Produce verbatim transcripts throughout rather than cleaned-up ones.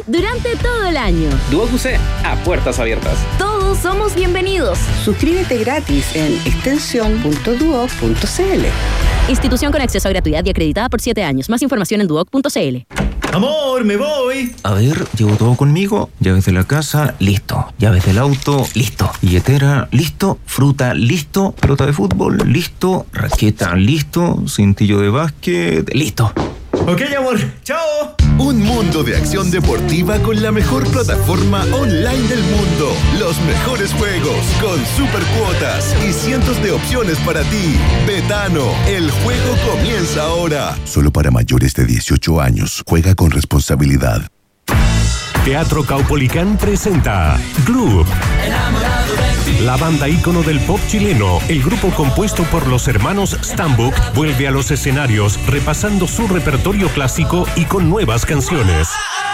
durante todo el año. Duoc U C, a puertas abiertas. Todos somos bienvenidos. Suscríbete gratis en extensión punto duoc punto c l. Institución con acceso a gratuidad y acreditada por siete años. Más información en duoc punto c l. Amor, me voy. A ver, llevo todo conmigo. Llaves de la casa, listo. Llaves del auto, listo. Billetera, listo. Fruta, listo. Pelota de fútbol, listo. Raqueta, listo. Cintillo de básquet, listo. Ok, amor. Chao. Un mundo de acción deportiva con la mejor plataforma online del mundo. Los mejores juegos con super cuotas y cientos de opciones para ti. Betano, el juego comienza ahora. Solo para mayores de dieciocho años. Juega con responsabilidad. Teatro Caupolicán presenta Gloop. La banda ícono del pop chileno, el grupo compuesto por los hermanos Stambuk, vuelve a los escenarios repasando su repertorio clásico y con nuevas canciones.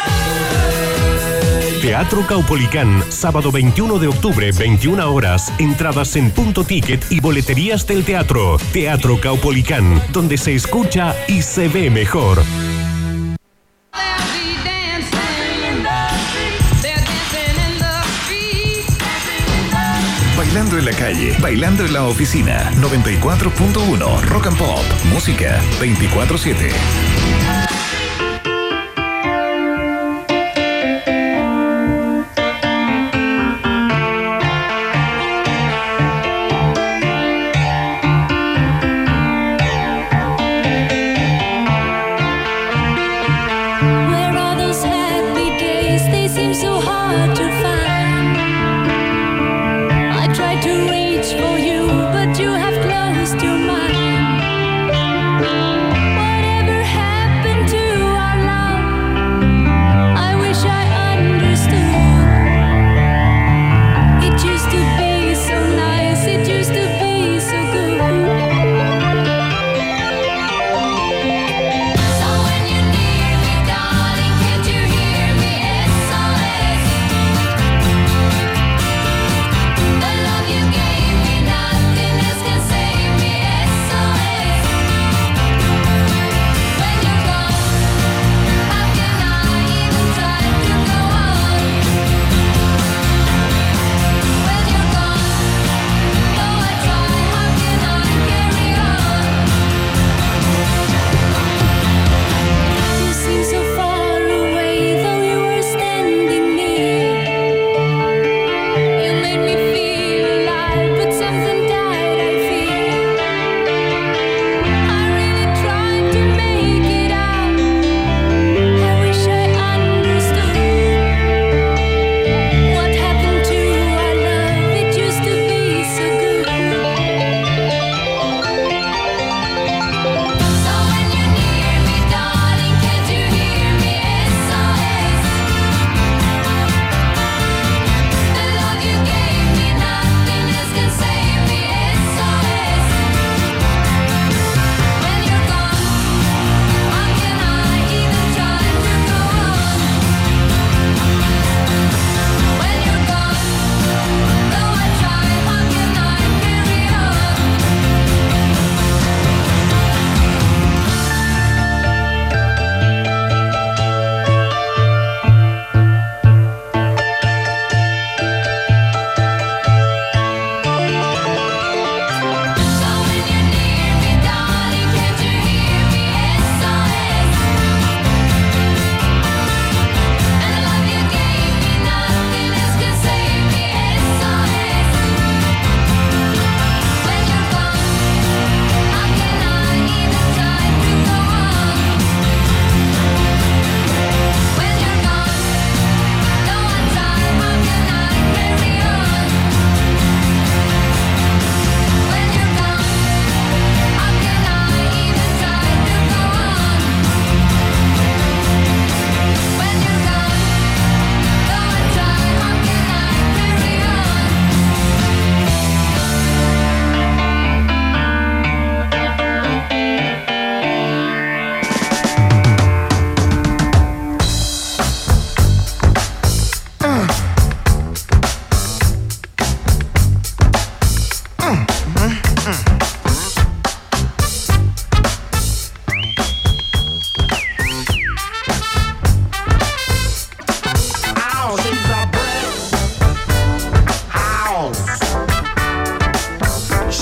Teatro Caupolicán, sábado veintiuno de octubre, veintiuna horas. Entradas en Punto Ticket y boleterías del teatro. Teatro Caupolicán, donde se escucha y se ve mejor. Bailando en la calle, bailando en la oficina. noventa y cuatro punto uno Rock and Pop. Música veinticuatro siete. Whatever happened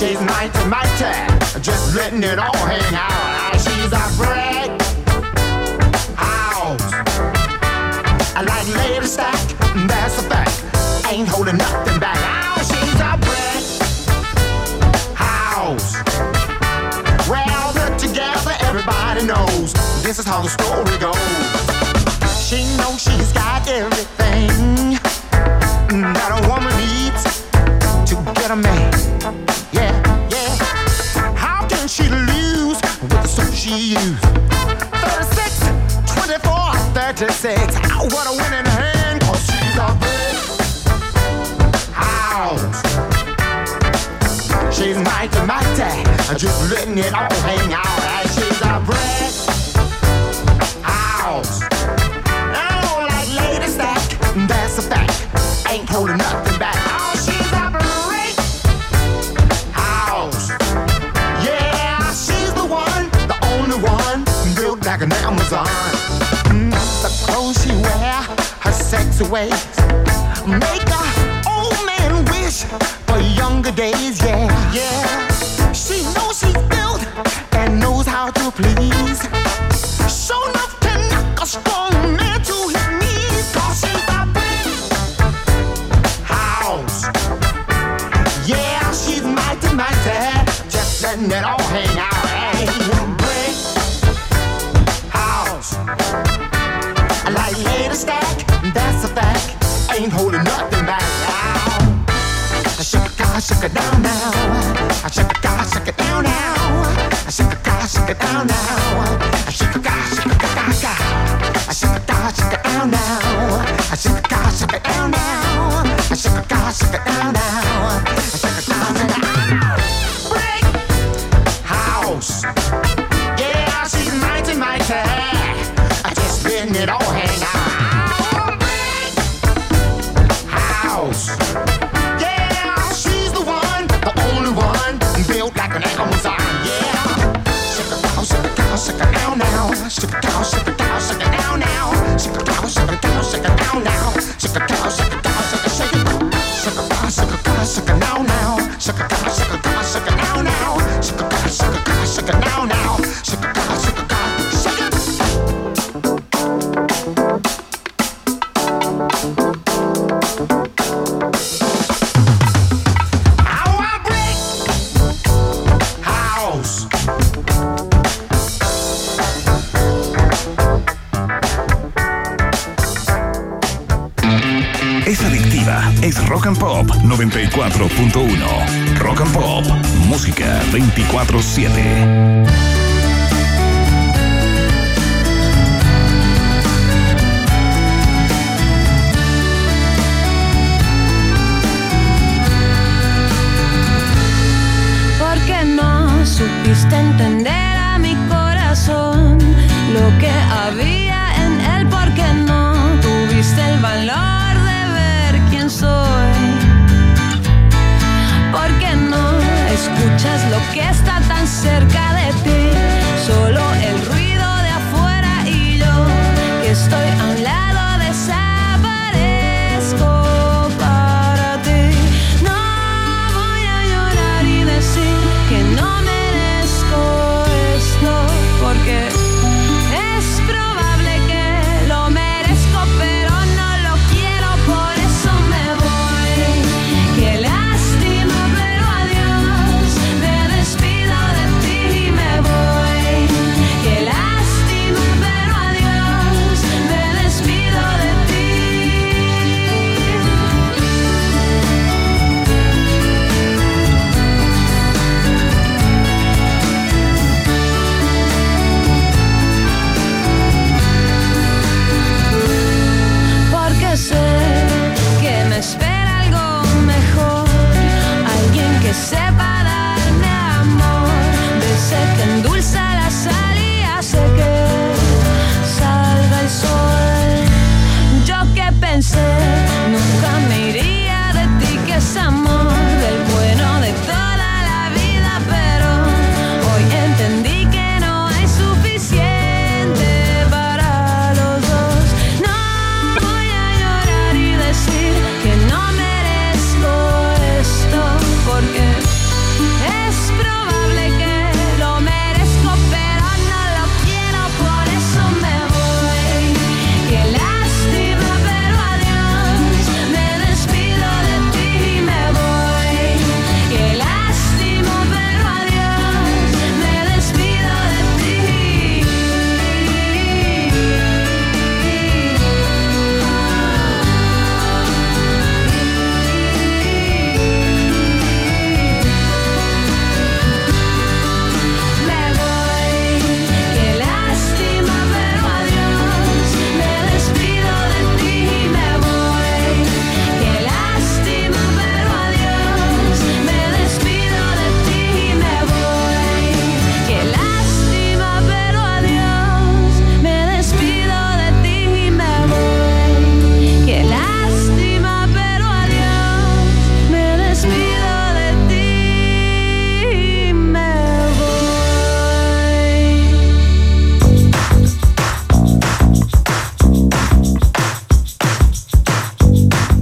She's mighty, mighty, just letting it all hang out. She's a brick house. I like lady stack, that's a fact. Ain't holding nothing back. Oh, she's a brick house. Well, put together, everybody knows this is how the story goes. She knows she's got everything that a woman needs to get a man. Yeah, yeah. How can she lose with the soap she used? thirty-six, twenty-four, thirty-six. Oh, what a winning hand, cause she's a big house. She's mighty, mighty, just letting it all hang out. She's a brick house. I don't like lady stack, that's a fact. Ain't holding nothing back. Oh, she's a brick house. Yeah, she's the one, the only one, built like an Amazon. Mm, the clothes she wear, her sexy ways, make a old man wish for younger days. Yeah, yeah. She knows she's built and knows how to please. Show enough to knock a strong man to his knees. Cause she's a brick house. Yeah, she's mighty, mighty, just letting it all hang out. Hey, brick house. I like lady stack, that's a fact. Ain't holding nothing back. I shake it, I shake it down now. I shake it, I shake it down now. I shake it, I shake it down now. I shake it, I shake it down now. I shake it, I shake it down now. I shake it, I shake it down now. I shake it, I shake it down now. I shake it, I shake it down. Brick house. Yeah, she's mighty, mighty. I just letting it all hang out. Brick house. Built like an Amazon, yeah. Shake it down, shake it down, shake it down now. Shake it down, shake it down, shake it down now. Shake it down, shake it down, shake it down now. Shake it down, shake it down, shake it, shake it. Shake it down, shake it down, shake it down now. Shake it down, shake it down, shake it down now. Shake it down, shake it down, shake it down now. Shake it down, shake it down, shake it. Es adictiva, es Rock and Pop noventa y cuatro punto uno. Rock and Pop, música veinticuatro siete. Porque no supiste entender a mi corazón lo que había en él, porque no tuviste el valor soy, porque no escuchas lo que está tan cerca de ti.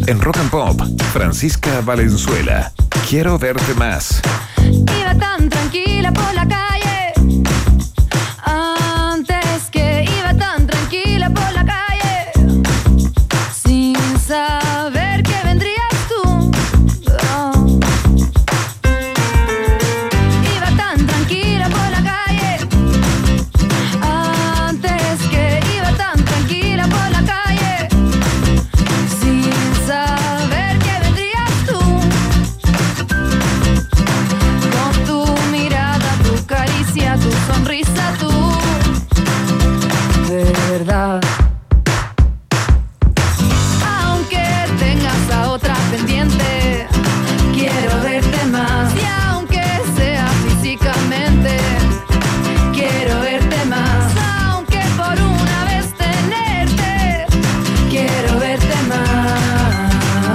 En Rock and Pop, Francisca Valenzuela. Quiero verte más. Iba tan tranquila por la calle, antes que iba tan tranquila por la calle, sin saber que vendrías tú. Oh. Iba tan tranquila por la calle, antes que iba tan tranquila por la calle, sin saber que vendrías tú. Con tu mirada, tu caricia, tu sonrisa, tú, de verdad. Aunque tengas a otra pendiente, quiero verte más. Y aunque sea físicamente, quiero verte más. Aunque por una vez tenerte, quiero verte más.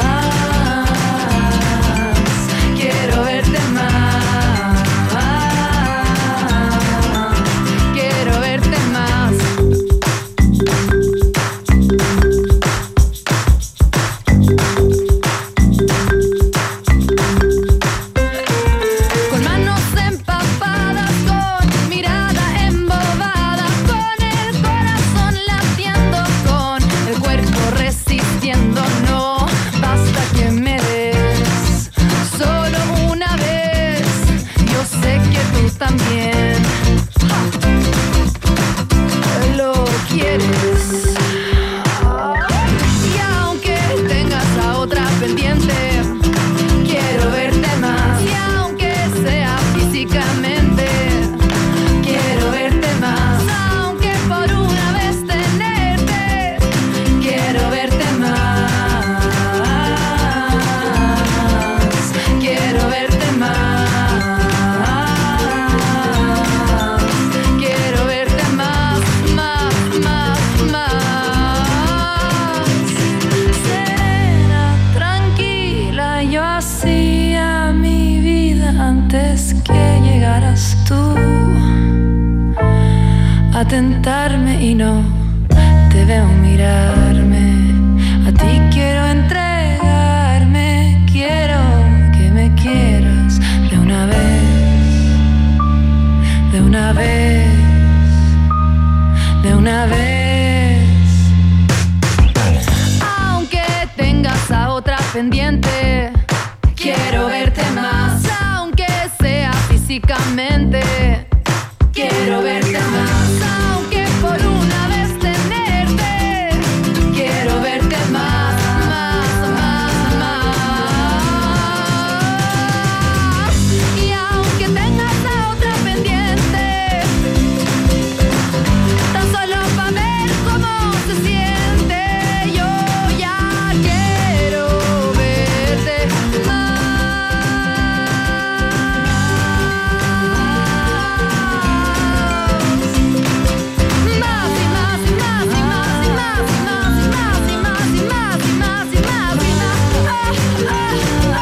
Quiero verte más. Quiero verte más. Con manos empapadas, con mirada embobada, con el corazón latiendo, con el cuerpo resistiendo. No basta que me des solo una vez. Yo sé que tú también lo quieres. Y aunque tengas a otra pendiente, quiero verte más. Y aunque sea físicamente, quiero verte más. Aunque por una vez tenerte, quiero verte más. Quiero verte más. Quiero verte más, más, más, más. Serena, tranquila, yo hacía mi vida antes que llegaras tú a tentarme y no te veo mirarme. A ti quiero entregarme, quiero que me quieras de una vez, de una vez, de una vez. Aunque tengas a otra pendiente, quiero verte más. Aunque sea físicamente, quiero verte más. Aunque por una vez tenerte, quiero verte más, más, más, más. Y aunque tengas a otra pendiente, tan solo para ver cómo se siente, yo ya quiero verte más. Más y más y más y más y más y más y más y más y más y más y más y más. Ah,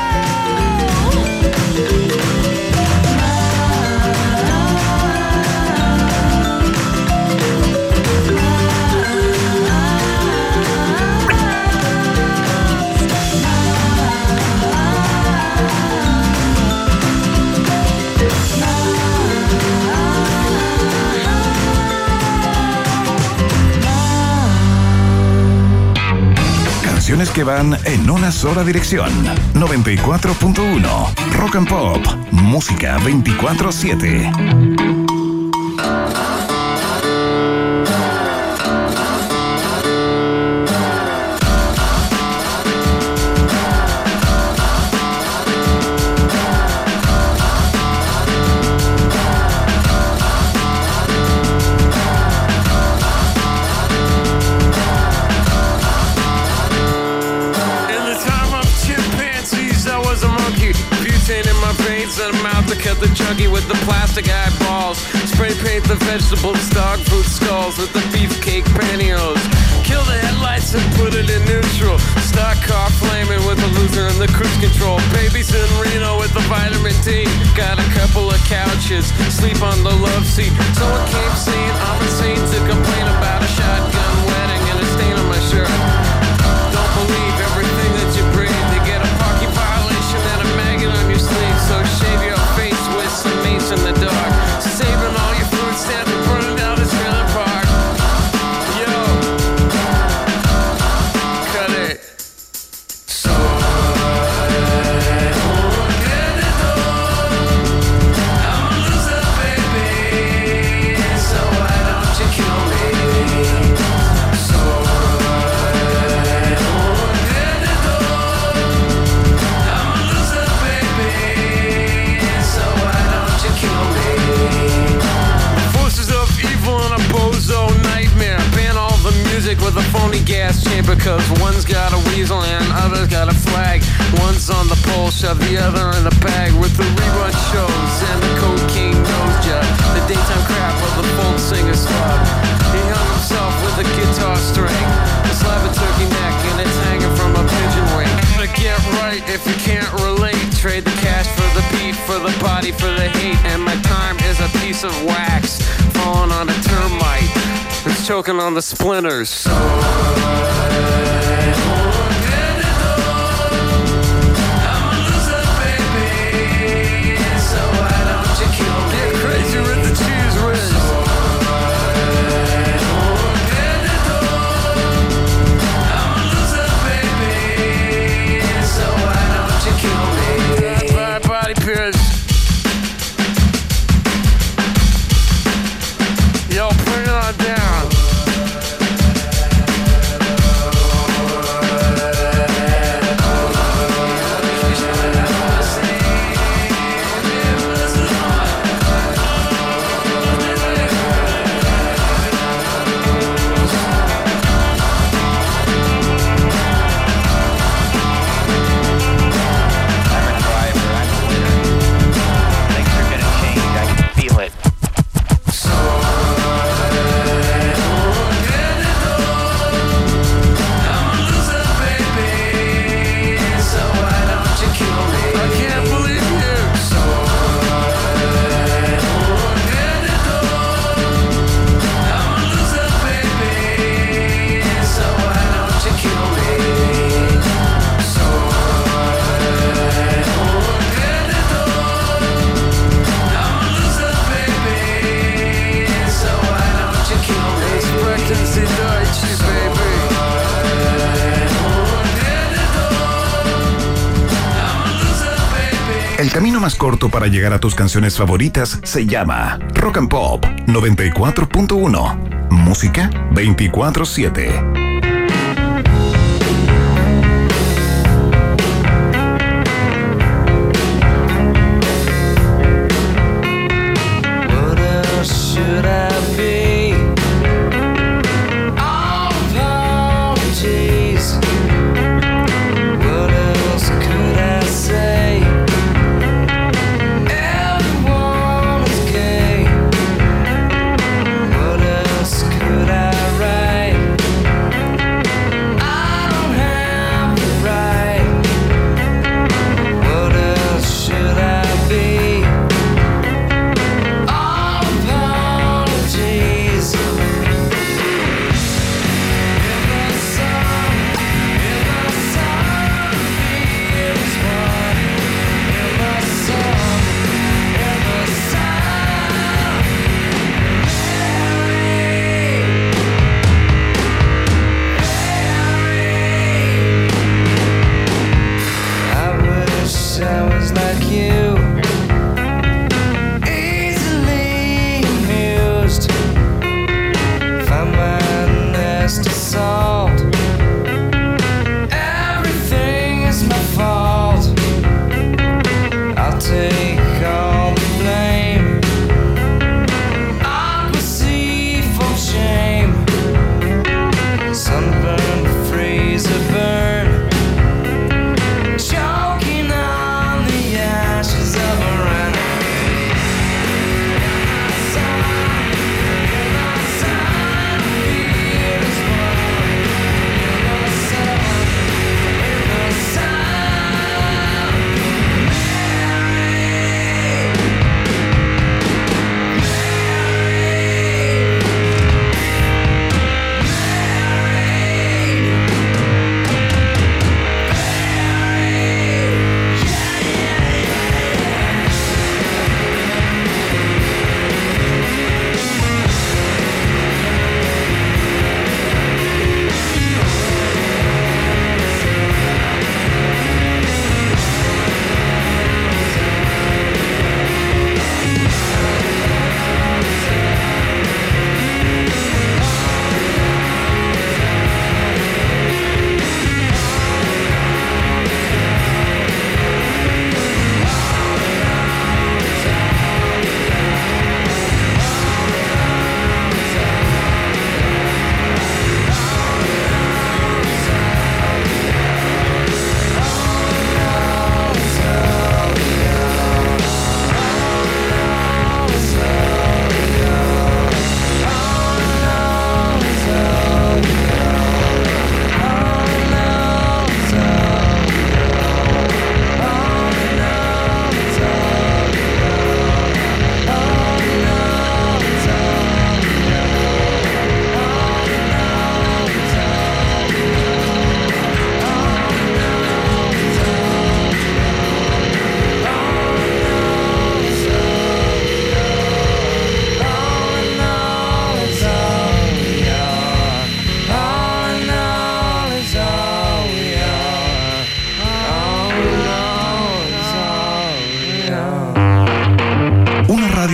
Canciones que van en una sola dirección. noventa y cuatro punto uno. Rock and Pop. Música veinticuatro siete. Cut the chuggy with the plastic eyeballs. Spray paint the vegetables, dog food skulls with the beefcake pantyhose. Kill the headlights and put it in neutral. Stock car flaming with the loser and the cruise control. Babies in Reno with the vitamin D. Got a couple of couches, sleep on the love seat. Someone came saying I'm insane to complain about a shotgun wedding and a stain on my shirt. Don't believe everything that you got a weasel and others got a flag. One's on the pole, shove the other in the bag. With the rerun shows and the cocaine nose job, the daytime crap of the folk singer's club. He hung himself with a guitar string, a slab of turkey neck, and it's hanging from a pigeon wing. But get right if you can't relate. Trade the cash for the beat, for the body, for the hate. And my time is a piece of wax falling on a termite that's choking on the splinters. So yo, bring it on down. El camino más corto para llegar a tus canciones favoritas se llama Rock and Pop noventa y cuatro punto uno. Música veinticuatro siete. Could I write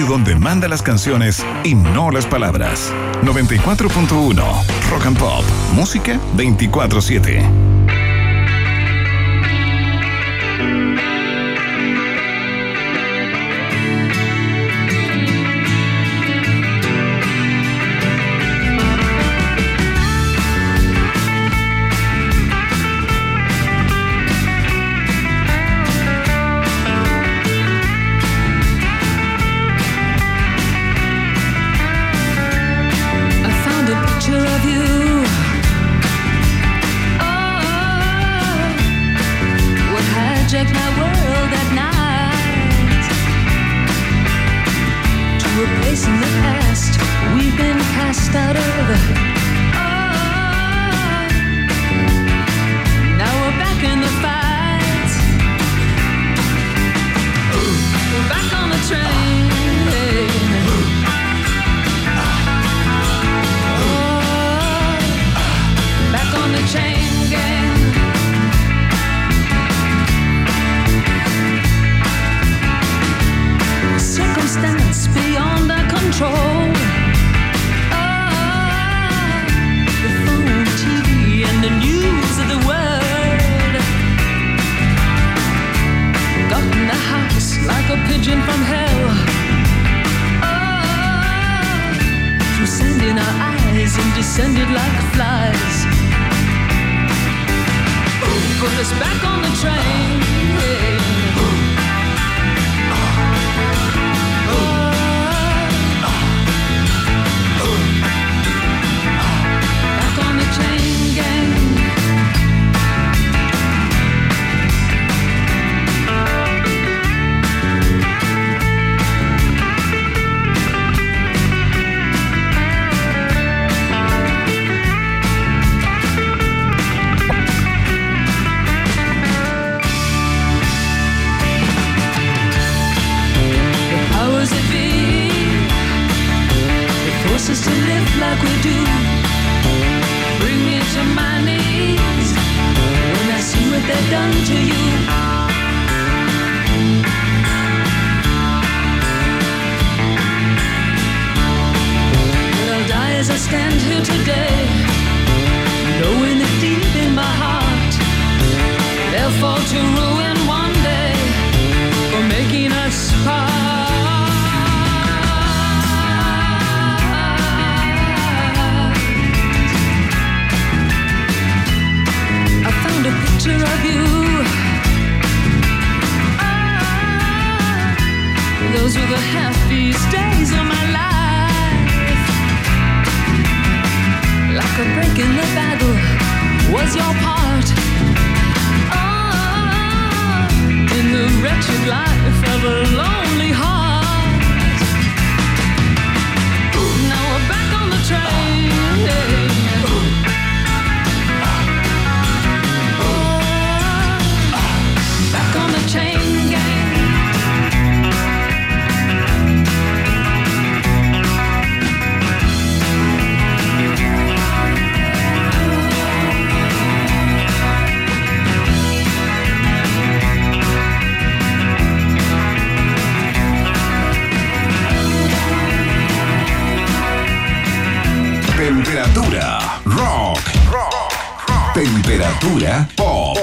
donde manda las canciones y no las palabras. noventa y cuatro punto uno Rock and Pop. Música veinticuatro siete. Temperatura rock. Temperatura pop.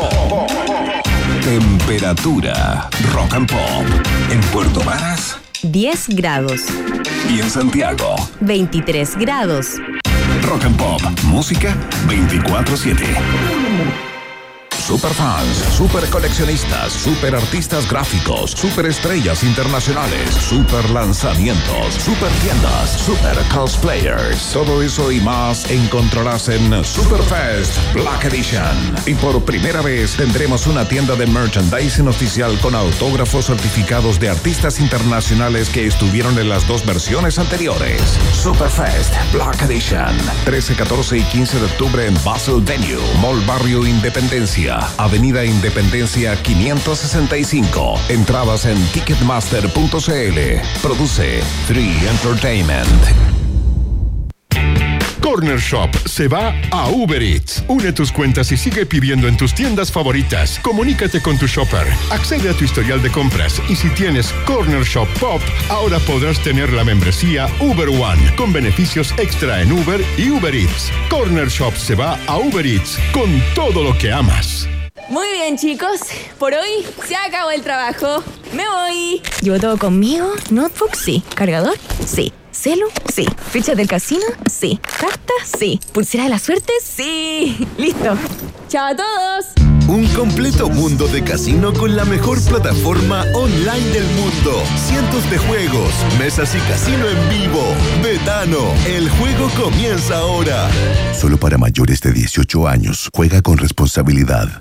Temperatura rock and pop. En Puerto Varas, diez grados. Y en Santiago, veintitrés grados. Rock and Pop, música veinticuatro siete. Superfans, super coleccionistas, super artistas gráficos, super estrellas internacionales, super lanzamientos, super tiendas, super cosplayers. Todo eso y más encontrarás en Superfest Black Edition. Y por primera vez tendremos una tienda de merchandising oficial con autógrafos certificados de artistas internacionales que estuvieron en las dos versiones anteriores. Superfest Black Edition. trece, catorce y quince de octubre en Basel Venue, Mall Barrio Independencia. Avenida Independencia quinientos sesenta y cinco. Entradas en ticketmaster punto c l. Produce Free Entertainment. Corner Shop se va a Uber Eats. Une tus cuentas y sigue pidiendo en tus tiendas favoritas. Comunícate con tu shopper. Accede a tu historial de compras. Y si tienes Corner Shop Pop, ahora podrás tener la membresía Uber One con beneficios extra en Uber y Uber Eats. Corner Shop se va a Uber Eats con todo lo que amas. Muy bien, chicos. Por hoy se acabó el trabajo. Me voy. ¿Llevo todo conmigo? ¿Notebook? Sí. ¿Cargador? Sí. ¿Celu? Sí. ¿Fichas del casino? Sí. ¿Cartas? Sí. ¿Pulsera de la suerte? Sí. Listo. ¡Chao a todos! Un completo mundo de casino con la mejor plataforma online del mundo. Cientos de juegos, mesas y casino en vivo. Betano, el juego comienza ahora. Solo para mayores de dieciocho años. Juega con responsabilidad.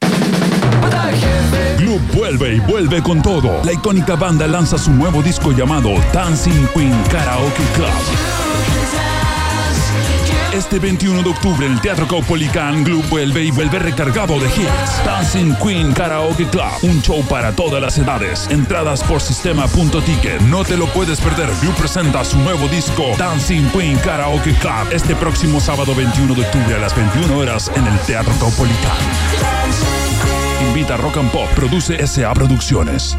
Club vuelve y vuelve con todo. La icónica banda lanza su nuevo disco llamado Dancing Queen Karaoke Club. Este veintiuno de octubre en el Teatro Caupolicán, Club vuelve y vuelve recargado de hits. Dancing Queen Karaoke Club, un show para todas las edades. Entradas por sistema punto ticket. No te lo puedes perder. Club presenta su nuevo disco Dancing Queen Karaoke Club este próximo sábado veintiuno de octubre a las veintiuna horas en el Teatro Caupolicán. Invita Rock and Pop, produce S A Producciones.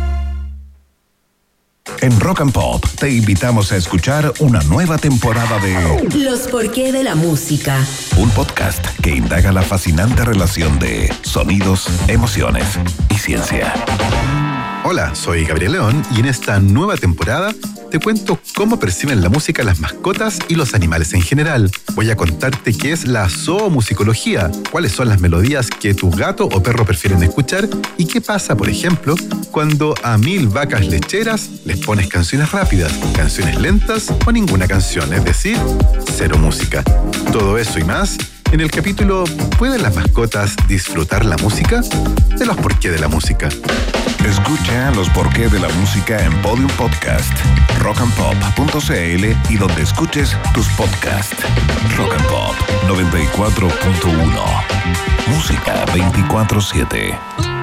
En Rock and Pop te invitamos a escuchar una nueva temporada de Los Porqué de la Música. Un podcast que indaga la fascinante relación de sonidos, emociones y ciencia. Hola, soy Gabriel León y en esta nueva temporada te cuento cómo perciben la música las mascotas y los animales en general. Voy a contarte qué es la zoomusicología, cuáles son las melodías que tu gato o perro prefieren escuchar y qué pasa, por ejemplo, cuando a mil vacas lecheras les pones canciones rápidas, canciones lentas o ninguna canción, es decir, cero música. Todo eso y más en el capítulo ¿Pueden las mascotas disfrutar la música? De los porqué de la música. Escucha los porqué de la música en Podium Podcast, rock and pop punto c l y donde escuches tus podcasts. Rock and Pop noventa y cuatro punto uno. Música veinticuatro siete.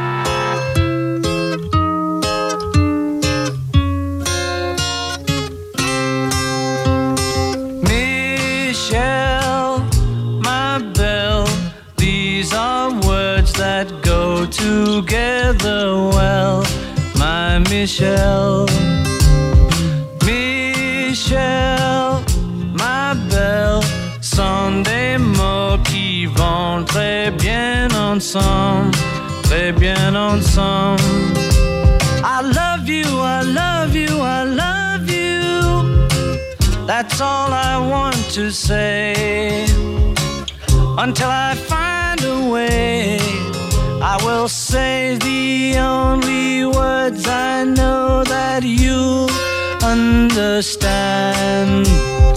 Michelle, my belle, these are words that go together well, my Michelle. Michelle, my belle, sont des mots qui vont très bien ensemble, très bien ensemble. I love you, I love you, I love you. That's all I want to say. Until I find a way, I will say the only words I know that you'll understand.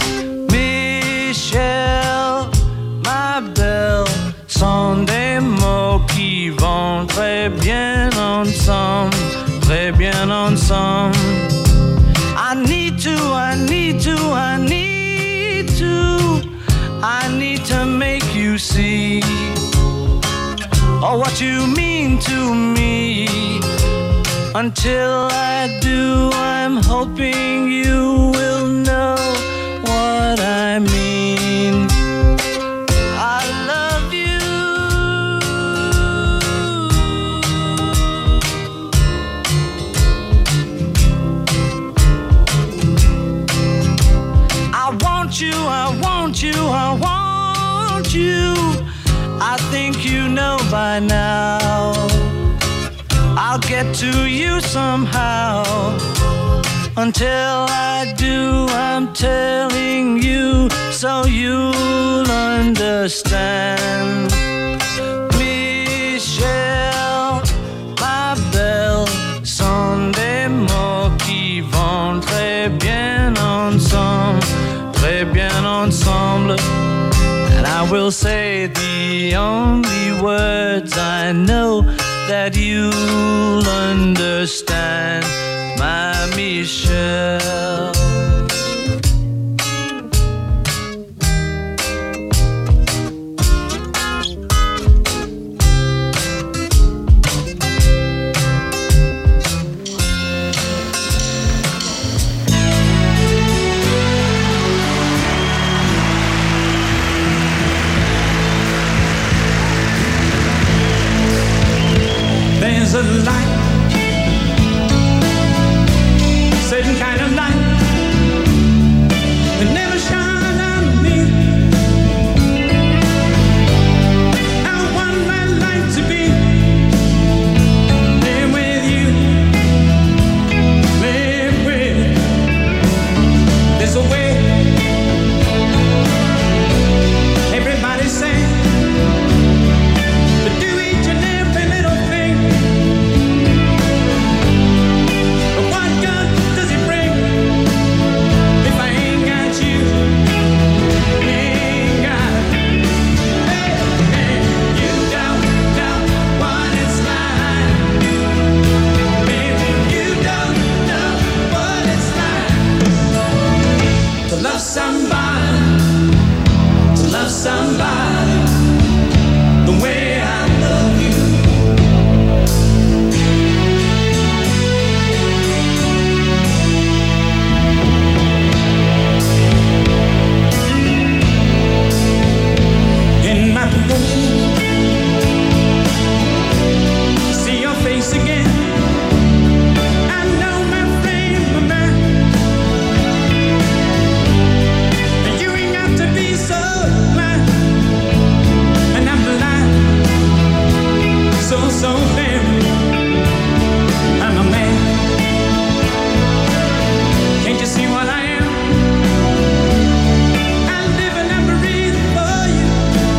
Michelle, my belle, sont des mots qui vont très bien ensemble, très bien ensemble. I need to, I need to, I need to, I need to make you see oh, what you mean to me. Until I do, I'm hoping you will know what I mean. I love you. I want you, I want you, I want you. I think you know by now. I'll get to you somehow. Until I do, I'm telling you so you'll understand. Michelle, ma belle, sont des mots qui vont très bien ensemble, très bien ensemble. And I will say the only words I know that you'll understand, my Michelle. a light, certain kind of light that never shine on me. I want my life to be there with you, live with. There's a way. Everybody say to do each and every little thing. But what good does it bring if I ain't got you? Ain't got. Hey, hey, you don't know what it's like. Baby, you don't know what it's like to love somebody, to love somebody the way I love you. In my room, see your face again. I know my frame of mind. And you ain't got to be so blind. And I'm blind, so, so damn. I'm a man. Can't you see what I am? I live and I breathe for you.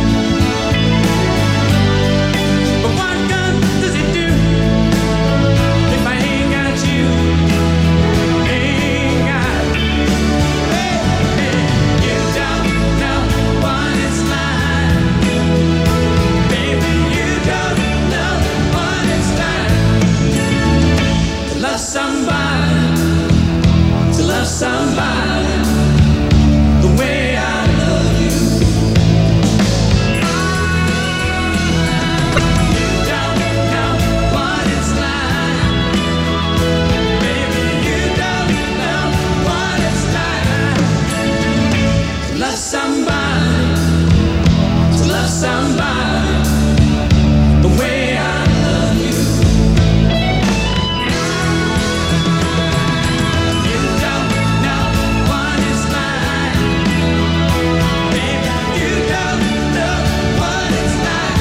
But what good does it do if I ain't got you? Ain't got. Hey, hey, you don't know what it's like. Baby, you don't know what it's like to love somebody, to love somebody the way I love you. You don't know what it's like. Baby, you don't know what it's like to love somebody, to love somebody the way I love you. You don't know what it's like. Baby, you don't know what it's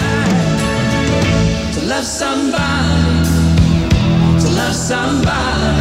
like to love somebody, to love somebody.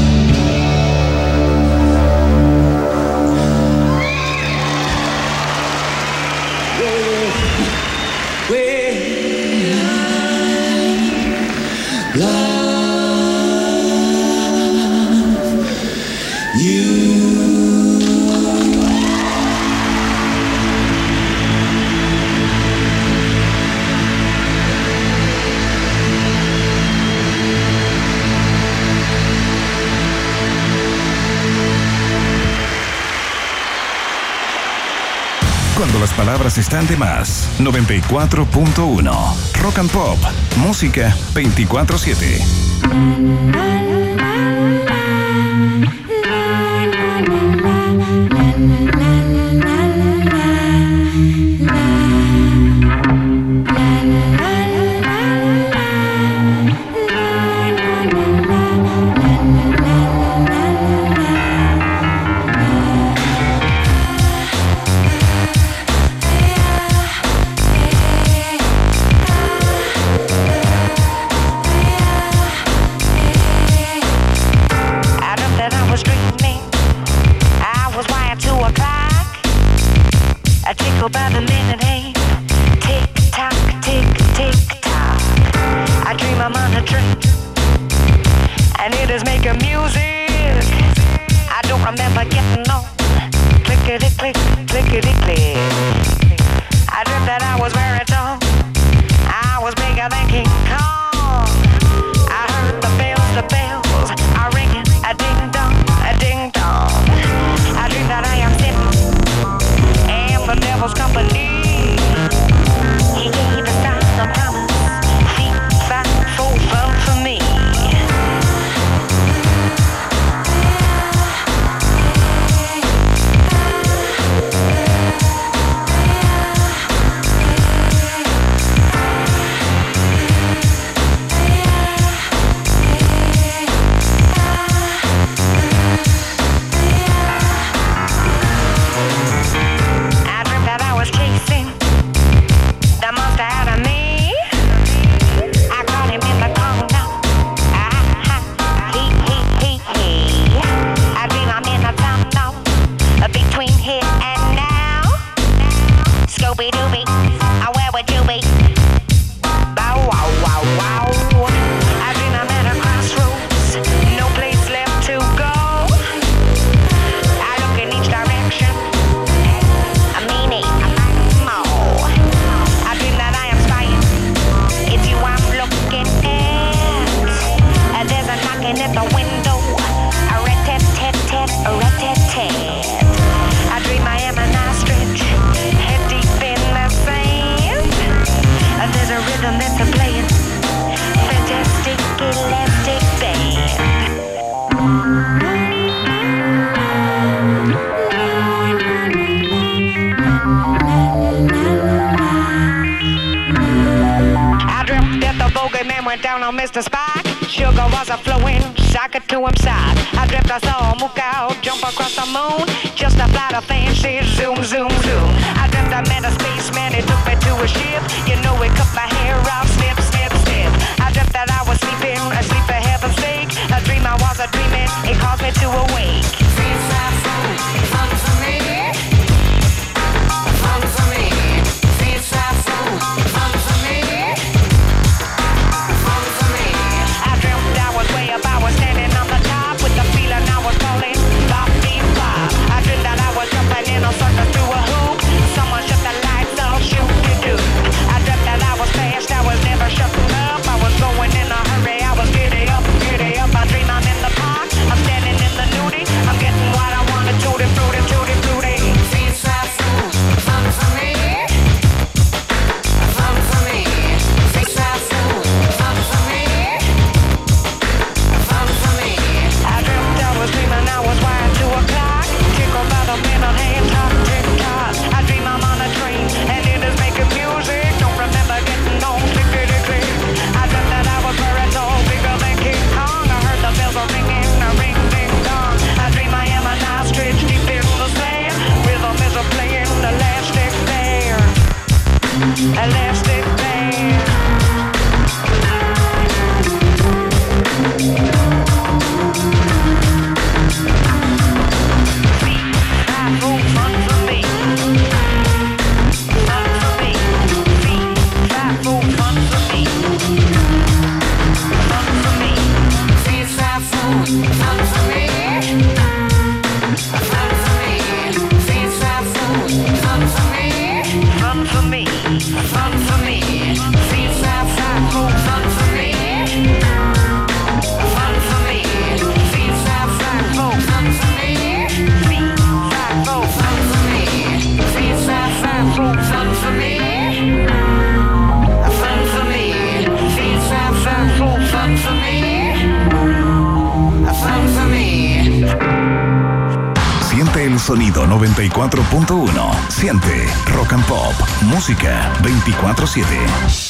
Cuando las palabras están de más. noventa y cuatro punto uno. Rock and Pop. Música veinticuatro siete. By the minute hand, tick tock, tick tick tock. I dream I'm on a train, and it is making music. I don't remember getting on. Clickety click, clickety click. I dreamt that I was very tall. I was bigger than King Kong. I heard the bells, the bells are ringing, a ding dong, a ding dong. I dream that I am sitting in the devil's company. He gave a sign of promise, seems like so fun for me. elastic band. I dreamt that the bogeyman went down on Mister Spock. Sugar was a flowing socket to him side. I dreamt I saw a mook out jump across the moon. Just a flight of fancy zoom, zoom, zoom. I dreamt I met a spaceman, he took me to a ship. You know he cut my hair off, snip, snip, snip. I dreamt that I was sleeping, asleep for heaven's sake. A dream I was a dreaming, it caused me to awake. Seems like fun, fun for me. Fun for me. Seems like fun, fun for me. Fun for me. I dreamt I was way up, I was standing on the top with the feeling I was falling. Bop, beep, bop. I dreamt that I was jumping in a circle through a hoop. Someone shut the lights off, shoot to do. I dreamt that I was fast, I was never shutting up. I was going in a hurry, I was giddy up, giddy up. I dream I'm in the park, I'm standing in the nudie. I'm getting what I wanted, tutti frutti, tutti frutti. Seems like food, fun for me. Fun for me. Seems like food, fun for me. Fun for me. I dreamt I was dreaming I was wired to a clock. Tickled by the minute hand, top, tick tock. I dream I'm on a train and it is making music. Don't remember getting on, clickety click. I dreamt that I was very tall, bigger than King Kong. I heard the bells are ringing, a ring, ding, dong. I dream I am an ostrich deep in the sand. Rhythm is a playing elastic band. Elastic band. Fun for me. Fun for me. Fun for me. Fun for me. Fun for me. Fun for me. Fun for me. Fun for me. Fun for me. Fun for me. Fun for me. Fun for me. Siente el sonido noventa y cuatro punto uno. Siente Rock and Pop. Música veinticuatro siete.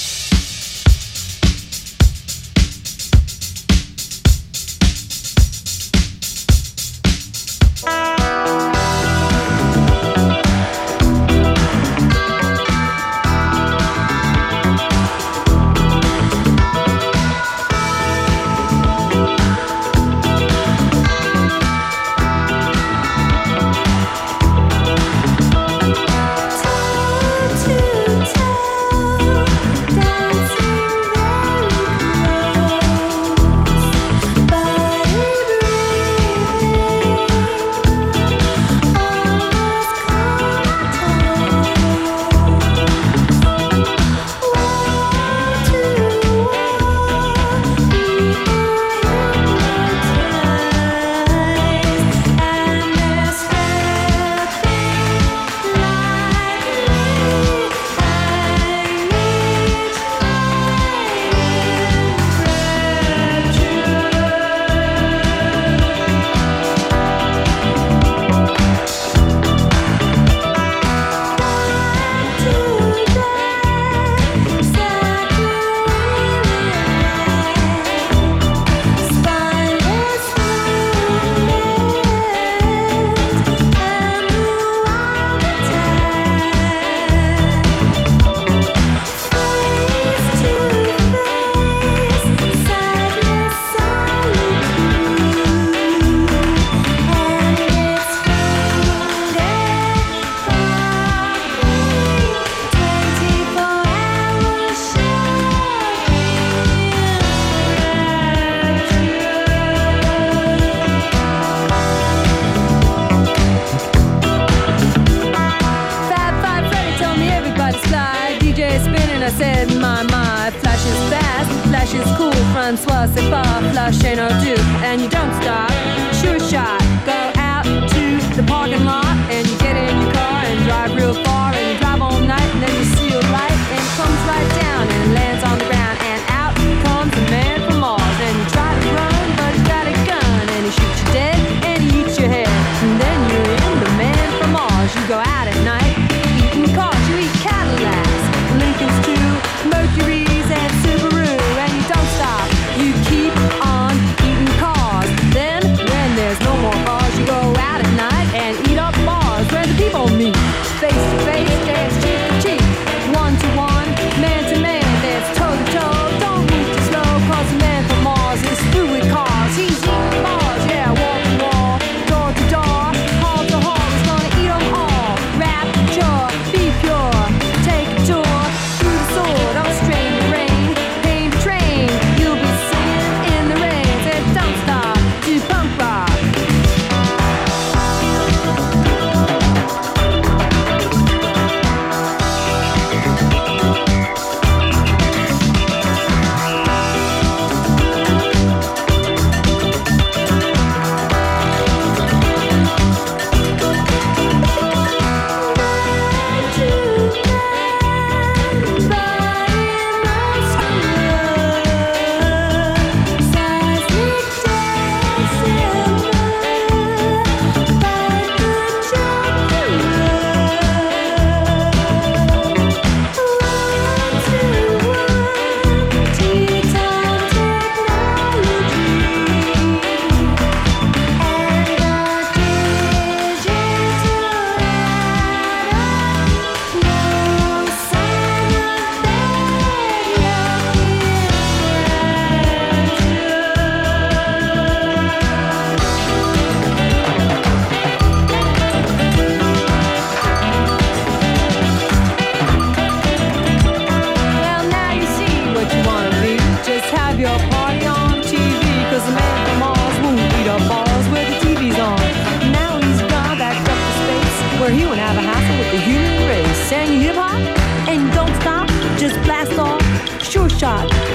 Francois, c'est pas flash ain't no do, and you don't stop. Sure shot, go out to the parking lot, and you get in your car and drive real far, and you drive all night, and then you see a light, and it comes right down and lands on the ground, and out comes a man from Mars, and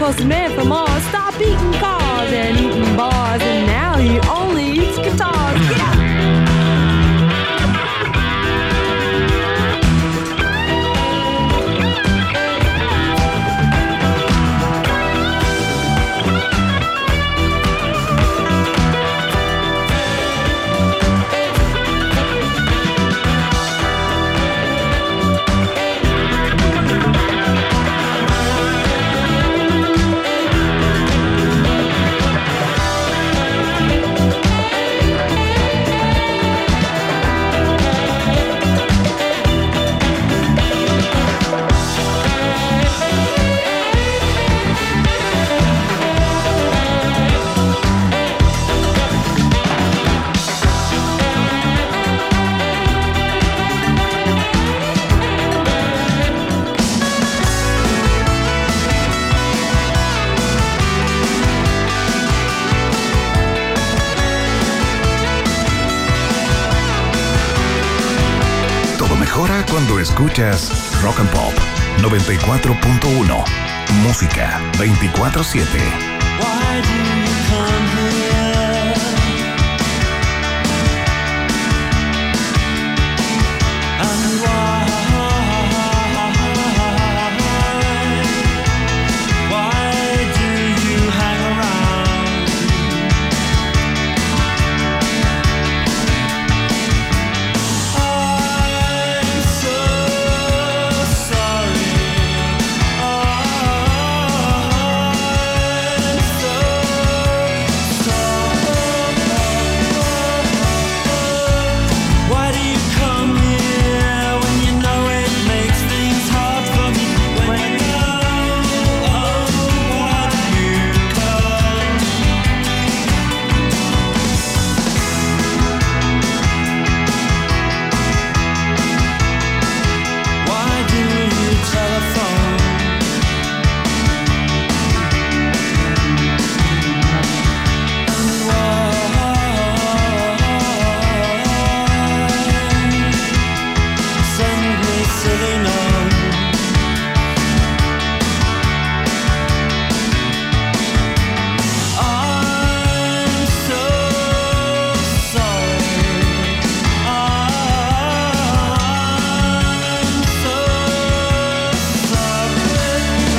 'cause the man from Mars stopped eating cars and eating bars, and now he only eats guitars. Yeah. Cuando escuchas Rock and Pop noventa y cuatro punto uno, música veinticuatro siete. Why do you come here? And why? Why do you hang around? I'm so sorry. I'm so Why do you come here when you know it makes things hard for me? When you know, oh, why do you come? Why do you telephone? And send me silly notes. I'm so sorry. I'm so sorry.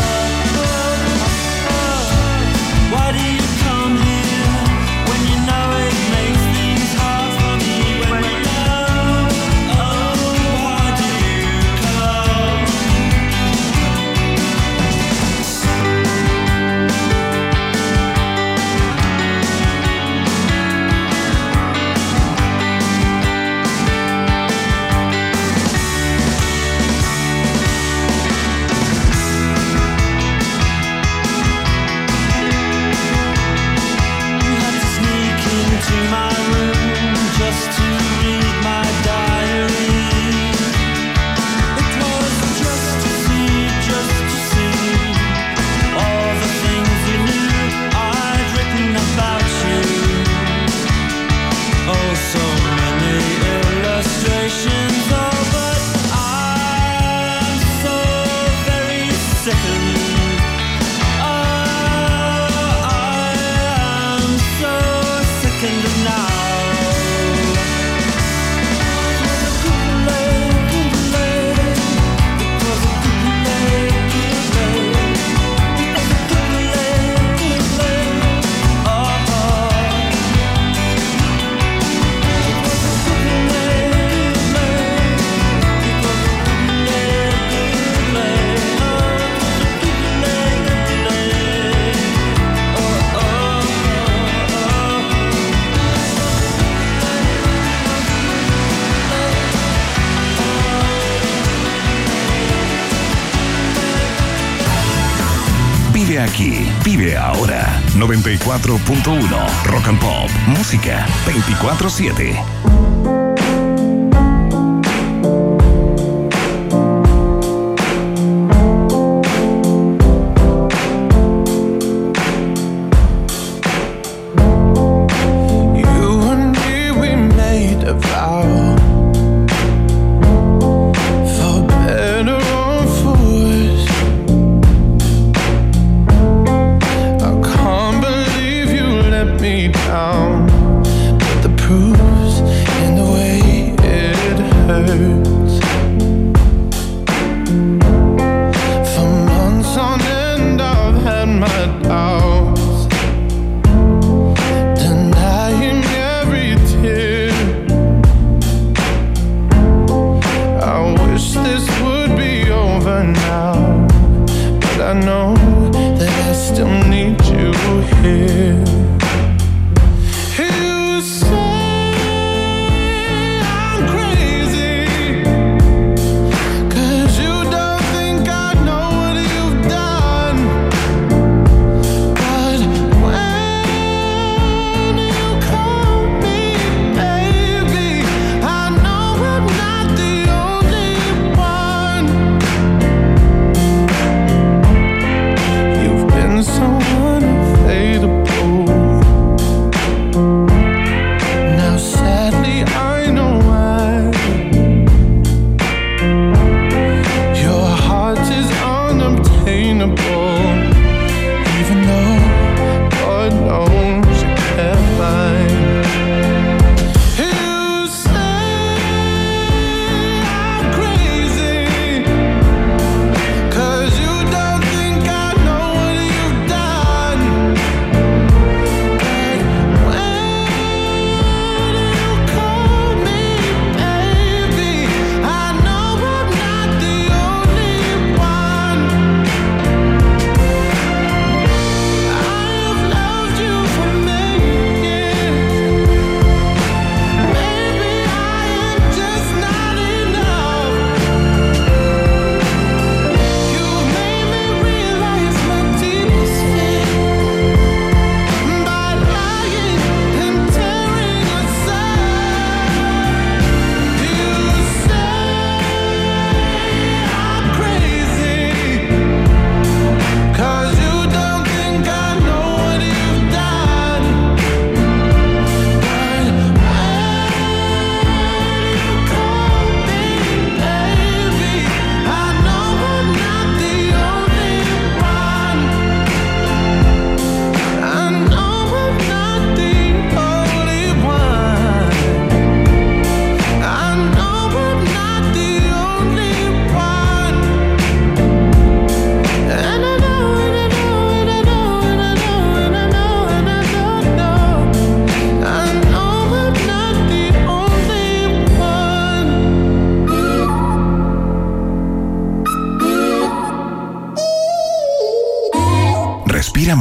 Why do you come here when you know it makes things hard for me? When you know, oh, why do you come? You had to sneak into my room just to read my diary. It was just to see, just to see all the things you knew I'd written about you. Oh, so many illustrations. Oh, but I'm so very sickened. Oh, I am so sickened now. Vive aquí, vive ahora. noventa y cuatro punto uno Rock and Pop, música veinticuatro siete. For better or for worse,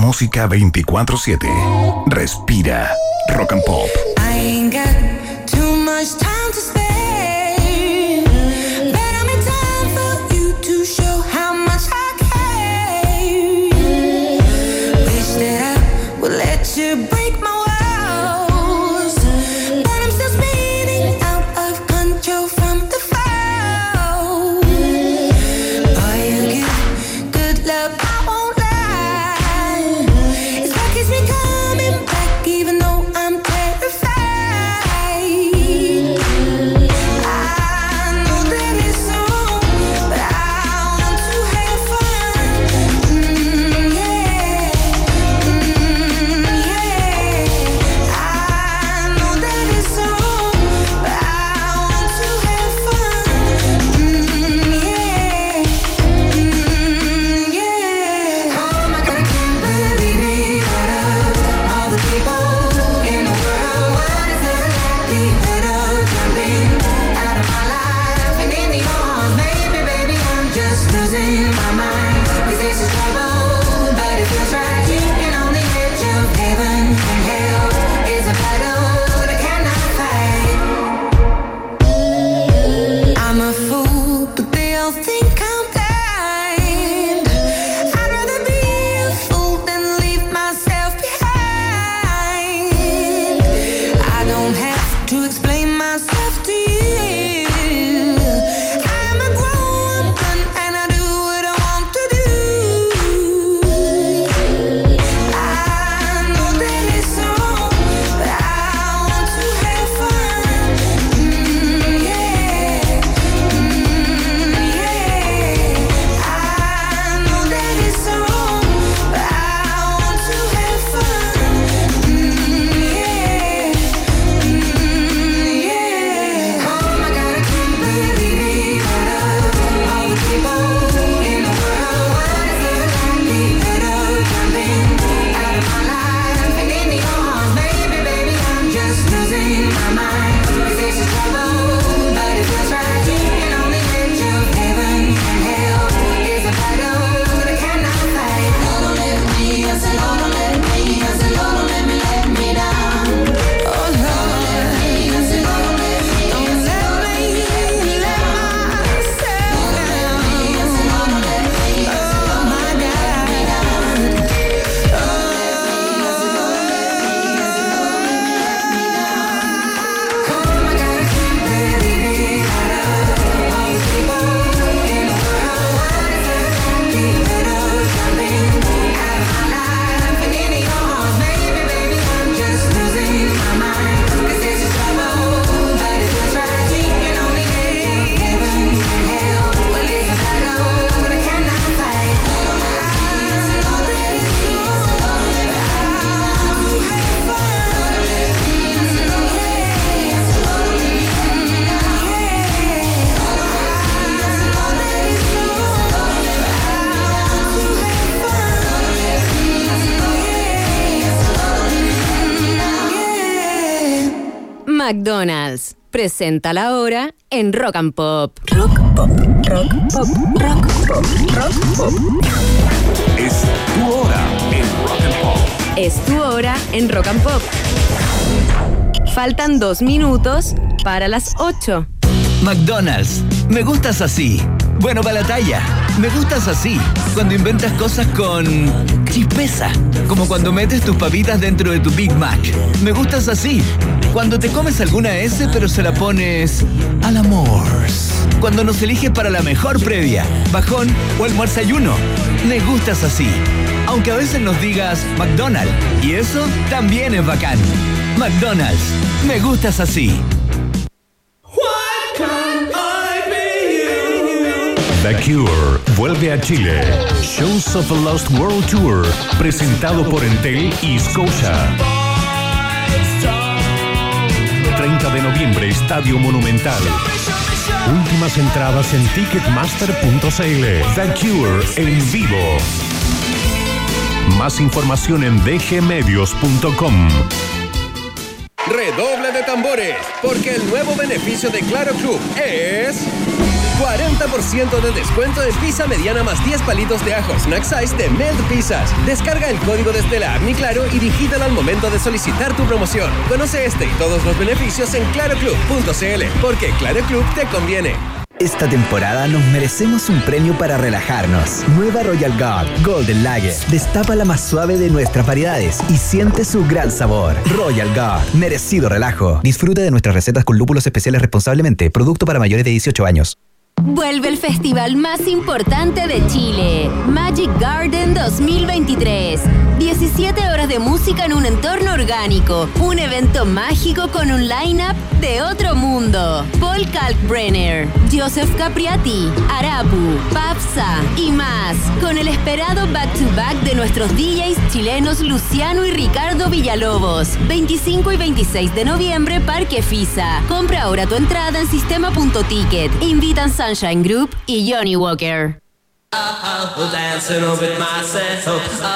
música veinticuatro siete. Respira. Rock and Pop. I ain't got too much time to spare, but I'm in time for you to show how much I care. Wish that I would let you break my walls, but I'm still spinning out of control from the fall. Boy, you give good love, I won't lie. It's like it's been coming back, even though I'm terrified. I know that it's wrong, but I want to have fun. Mm, yeah, mm, yeah. I know that it's wrong, but I want to have fun. Mm, yeah, mm, yeah. Oh my God, I can't believe it. All the people in the world, what is the likelihood of jumping out of my life and into yours? Maybe, baby, I'm just losing my mind. 'Cause this is trouble, but it feels right. And on the edge of heaven and hell is a battle that cannot fight. I'm a fool, but they all think I'm blind. I'd rather be a fool than leave myself behind. I don't have to explain myself to you. I'm a grown woman and I do what I want to do. I know that it's wrong, but I want to have fun. Mm, yeah, mm, yeah. I know that it's wrong, but I want to have fun. Mm, yeah, mm, yeah. Oh my God, I can't believe it. All the people in the world, what is the likelihood of jumping out of my life and into yours? Maybe, baby, I'm just losing my mind. 'Cause this is trouble, but it feels right. And on the edge of heaven and hell is a battle that cannot fight. Lord, don't let me, I said, Lord, don't let me, I said, Lord, don't let me let me down. Oh, Lord, don't let me, I said, Lord, don't let me, don't let me let myself down. I said, Lord, don't let me, I said, oh my God. Oh my God, I can't believe it. All these people in the world, what is the likelihood of jumping out of my life and into yours? Maybe, baby, I'm just losing my mind. 'Cause this is trouble, but it feels right. And on the edge of heaven and hell, well, it's a battle that I cannot fight. I know that it's wrong, but I want to have fun. McDonald's presenta la hora en Rock and Pop. Rock Pop, Rock Pop, Rock Pop, Rock Pop. Es tu hora en Rock and Pop. Es tu hora en Rock and Pop. Faltan dos minutos para las ocho. McDonald's, me gustas así. Bueno, para la talla. Me gustas así. Cuando inventas cosas con chispeza. Como cuando metes tus papitas dentro de tu Big Mac. Me gustas así. Cuando te comes alguna S pero se la pones al amor. Cuando nos eliges para la mejor previa, bajón o almuerzayuno. Me gustas así. Aunque a veces nos digas McDonald's. Y eso también es bacán. McDonald's, me gustas así. The Cure vuelve a Chile. Shows of a Lost World Tour, presentado por Entel y Scotia. treinta de noviembre, Estadio Monumental. Últimas entradas en ticketmaster punto c l. The Cure en vivo. Más información en d g medios punto com. Redoble de tambores, porque el nuevo beneficio de Claro Club es cuarenta por ciento de descuento en pizza mediana más diez palitos de ajo snack size de Melt Pizzas. Descarga el código desde la app Mi Claro y digítalo al momento de solicitar tu promoción. Conoce este y todos los beneficios en claro club punto c l, porque Claro Club te conviene. Esta temporada nos merecemos un premio para relajarnos. Nueva Royal Guard Golden Lager. Destapa la más suave de nuestras variedades y siente su gran sabor. Royal Guard, merecido relajo. Disfruta de nuestras recetas con lúpulos especiales responsablemente. Producto para mayores de dieciocho años. Vuelve el festival más importante de Chile, Magic Garden dos mil veintitrés. diecisiete horas de música en un entorno orgánico. Un evento mágico con un line-up de otro mundo. Paul Kalkbrenner, Joseph Capriati, Arapu, Papsa y más. Con el esperado back-to-back de nuestros D Js chilenos Luciano y Ricardo Villalobos. veinticinco y veintiséis de noviembre, Parque Fisa. Compra ahora tu entrada en sistema punto ticket. Invitan Sunshine Group y Johnny Walker.